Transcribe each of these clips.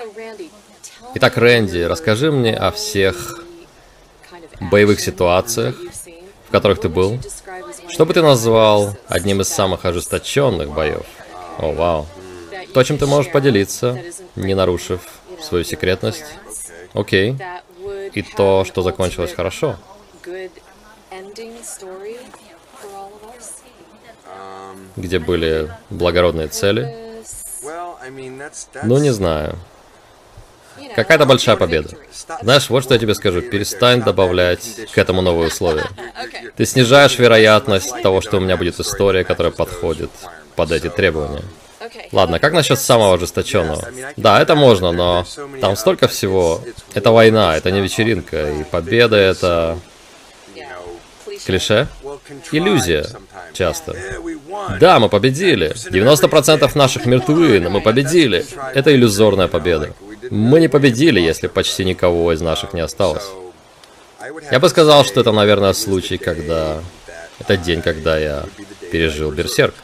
Итак, Рэнди, расскажи мне о всех боевых ситуациях, в которых ты был. Что бы ты назвал одним из самых ожесточенных боев? О, вау. То, чем ты можешь поделиться, не нарушив свою секретность. Окей. И то, что закончилось хорошо. Где были благородные цели. Ну, не знаю. Какая-то большая победа. Знаешь, вот что я тебе скажу. Перестань добавлять к этому новые условия. Ты снижаешь вероятность того, что у меня будет история, которая подходит под эти требования. Ладно, как насчет самого ожесточенного? Да, это можно, но там столько всего. Это война, это не вечеринка, и победа — это... клише? Иллюзия. Часто. Да, мы победили. 90% наших мертвы, но мы победили. Это иллюзорная победа. Мы не победили, если почти никого из наших не осталось. Я бы сказал, что это, наверное, случай, когда... Это день, когда я пережил Берсерк.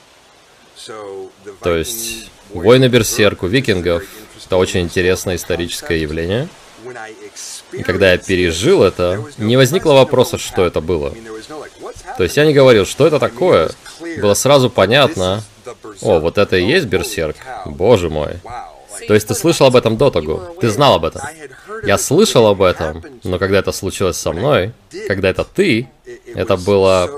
То есть, войны Берсерк у викингов — это очень интересное историческое явление. И когда я пережил это, не возникло вопроса, что это было. То есть я не говорил, что это такое. Было сразу понятно. О, вот это и есть Берсерк? Боже мой. То есть ты слышал об этом до того? Ты знал об этом? Я слышал об этом, но когда это случилось со мной, когда это ты, это было...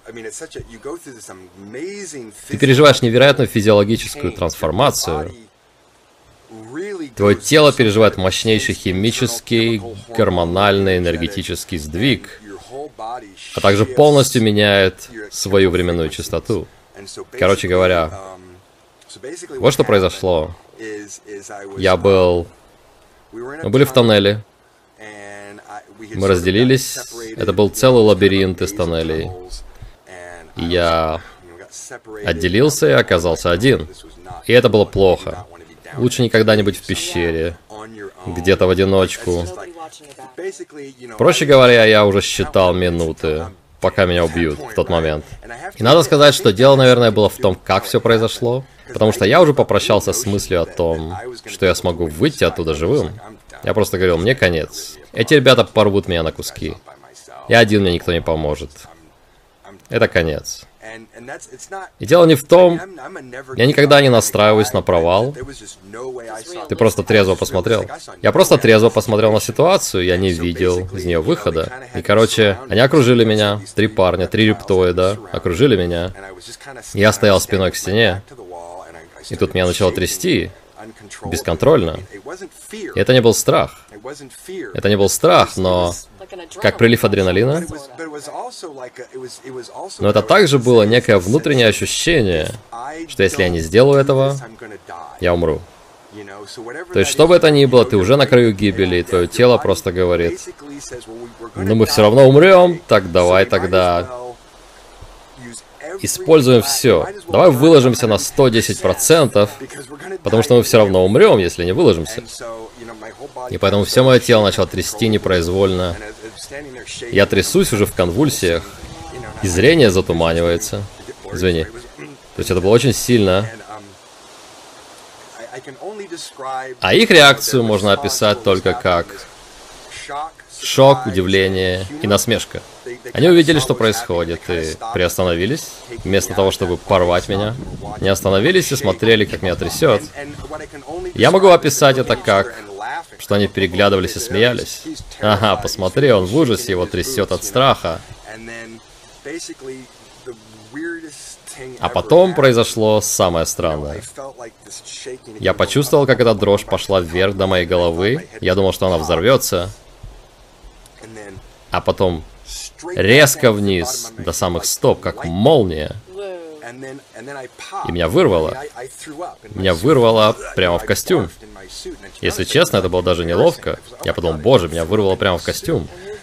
Ты переживаешь невероятную физиологическую трансформацию. Твое тело переживает мощнейший химический, гормональный, энергетический сдвиг, а также полностью меняет свою временную частоту. Короче говоря, вот что произошло. Мы были в тоннеле. Мы разделились. Это был целый лабиринт из тоннелей. И я отделился и оказался один. И это было плохо. Лучше никогда не быть в пещере, где-то в одиночку. Проще говоря, я уже считал минуты, пока меня убьют в тот момент. И надо сказать, что дело, наверное, было в том, как все произошло. Потому что я уже попрощался с мыслью о том, что я смогу выйти оттуда живым. Я просто говорил, мне конец. Эти ребята порвут меня на куски. Я один, мне никто не поможет. Это конец. И дело не в том, я никогда не настраиваюсь на провал. Ты просто трезво посмотрел. Я просто трезво посмотрел на ситуацию, я не видел из нее выхода. И, короче, они окружили меня, 3 парня, 3 рептоида, окружили меня. Я стоял спиной к стене, и тут меня начало трясти, бесконтрольно. И это не был страх. Это не был страх, но... Как прилив адреналина. Но это также было некое внутреннее ощущение, что если я не сделаю этого, я умру. То есть, что бы это ни было, ты уже на краю гибели, и твое тело просто говорит, ну мы все равно умрем, так давай тогда используем все. Давай выложимся на 110%, потому что мы все равно умрем, если не выложимся. И поэтому все мое тело начало трясти непроизвольно. Я трясусь уже в конвульсиях, и зрение затуманивается. Извини. То есть это было очень сильно. А их реакцию можно описать только как шок, удивление и насмешка. Они увидели, что происходит, и приостановились, вместо того, чтобы порвать меня. Не остановились и смотрели, как меня трясет. Я могу описать это как, что они переглядывались и смеялись. Ага, посмотри, он в ужасе, его трясет от страха. А потом произошло самое странное. Я почувствовал, как эта дрожь пошла вверх до моей головы. Я думал, что она взорвется. А потом резко вниз, до самых стоп, как молния. И меня вырвало. Меня вырвало прямо в костюм. Если честно, это было даже неловко. Я подумал, боже, меня вырвало прямо в костюм.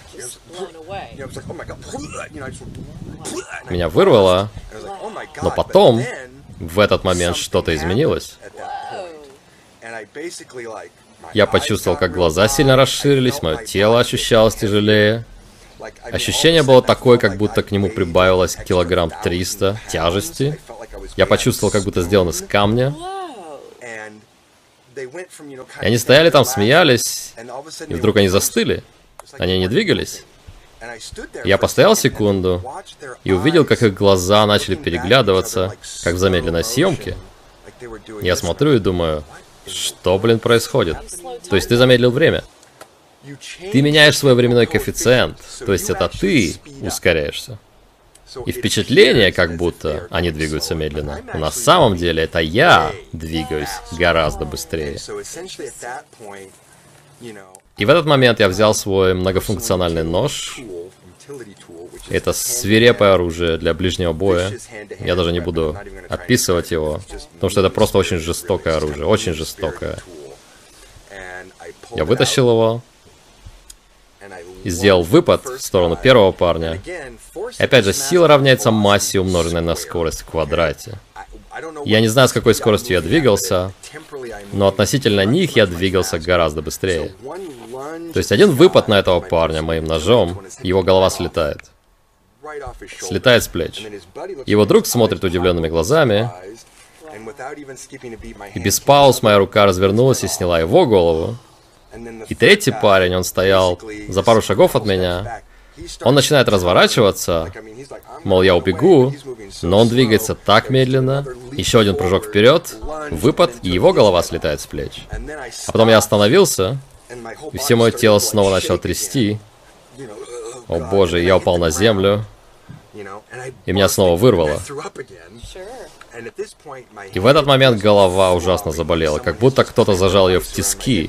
Меня вырвало, но потом, в этот момент, что-то изменилось. Я почувствовал, как глаза сильно расширились, мое тело ощущалось тяжелее. Ощущение было такое, как будто к нему прибавилось килограмм 300 тяжести. Я почувствовал, как будто сделан из камня. И они стояли там, смеялись, и вдруг они застыли. Они не двигались. Я постоял секунду и увидел, как их глаза начали переглядываться, как в замедленной съемке. Я смотрю и думаю, что, блин, происходит? То есть ты замедлил время. Ты меняешь свой временной коэффициент, то есть это ты ускоряешься. И впечатление, как будто они двигаются медленно. Но на самом деле это я двигаюсь гораздо быстрее. И в этот момент я взял свой многофункциональный нож. Это свирепое оружие для ближнего боя. Я даже не буду описывать его, потому что это просто очень жестокое оружие, очень жестокое. Я вытащил его и сделал выпад в сторону первого парня. И опять же, сила равняется массе, умноженной на скорость в квадрате. Я не знаю, с какой скоростью я двигался, но относительно них я двигался гораздо быстрее. То есть один выпад на этого парня моим ножом, его голова слетает. Слетает с плеч. Его друг смотрит удивленными глазами, и без пауз моя рука развернулась и сняла его голову. И третий парень, он стоял за пару шагов от меня. Он начинает разворачиваться, мол, я убегу, но он двигается так медленно. Еще один прыжок вперед, выпад, и его голова слетает с плеч. А потом я остановился, и все мое тело снова начало трясти. О боже, я упал на землю, и меня снова вырвало. И в этот момент голова ужасно заболела, как будто кто-то зажал ее в тиски.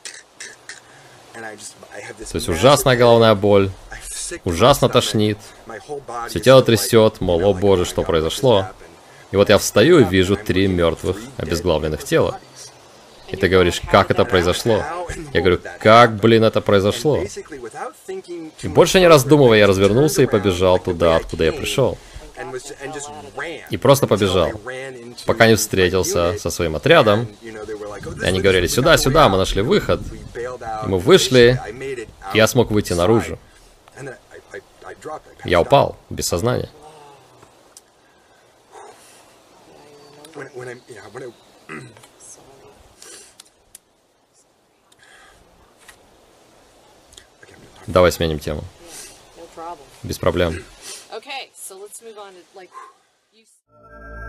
То есть ужасная головная боль, ужасно тошнит, все тело трясет, мол, о боже, что произошло. И вот я встаю и вижу 3 мертвых, обезглавленных тела. И ты говоришь, как это произошло? Я говорю, как, блин, это произошло? И больше не раздумывая, я развернулся и побежал туда, откуда я пришел. И просто побежал, пока не встретился со своим отрядом. И они говорили, сюда, сюда, мы нашли выход. И мы вышли, и я смог выйти наружу. Я упал, без сознания. Давай сменим тему. Без проблем.